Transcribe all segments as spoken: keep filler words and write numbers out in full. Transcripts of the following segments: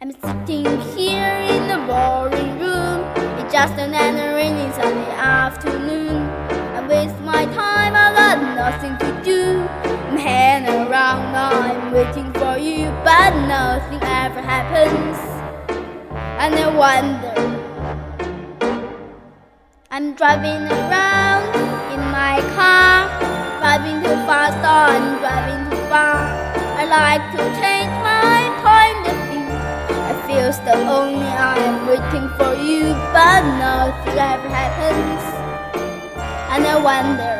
I'm sitting here in the boring room. It's just another rainy Sunday afternoon. I waste my time, I got nothing to do. I'm hanging around, I'm waiting for you, but nothing ever happens. And I wonder, I'm driving around in my car, driving too fast, I'm driving too far. I like to change my point of view. I feel so lonely, I am waiting for you, but nothing ever happens. And I wonder,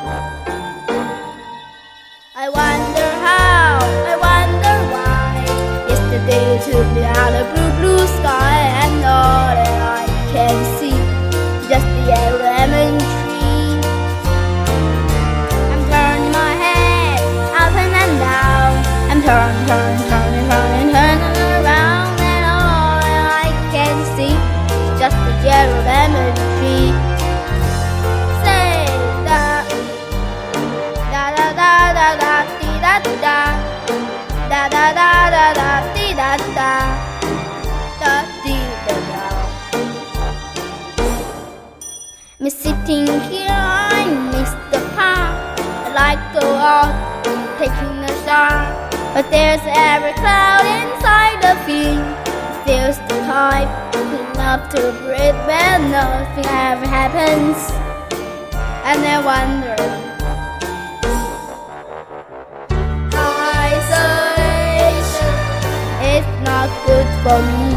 I wonder how, I wonder why. Yesterday you took me out of blue, blue sky, and all that I can see, just the yellow lemon tree. I'm turning my head up and down, I'm turning, turning, turning, turning, turning around, and all I can see is just the yellow lemon tree. Say da da da da da da dee da da da da da da da dee da da da dee da da. Me sitting here, I miss the park. I like to go out, taking a shower, but there's every cloud inside the field. It feels the type enough to breathe when nothing ever happens. And I wonder, isolation is not good for me.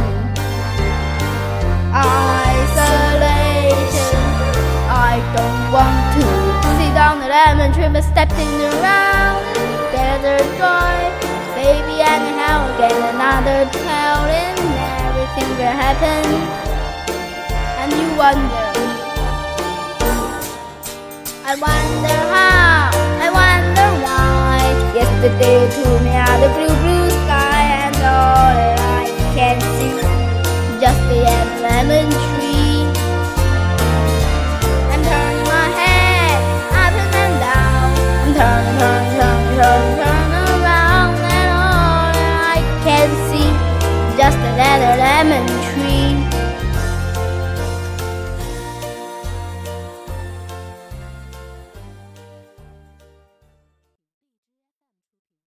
Isolation, I don't want to sit on the lemon tree, but stepping around, desert drive, baby, and how get another town, and everything will happen. And you wonder, I wonder how, I wonder why. Yesterday you took me out of blue.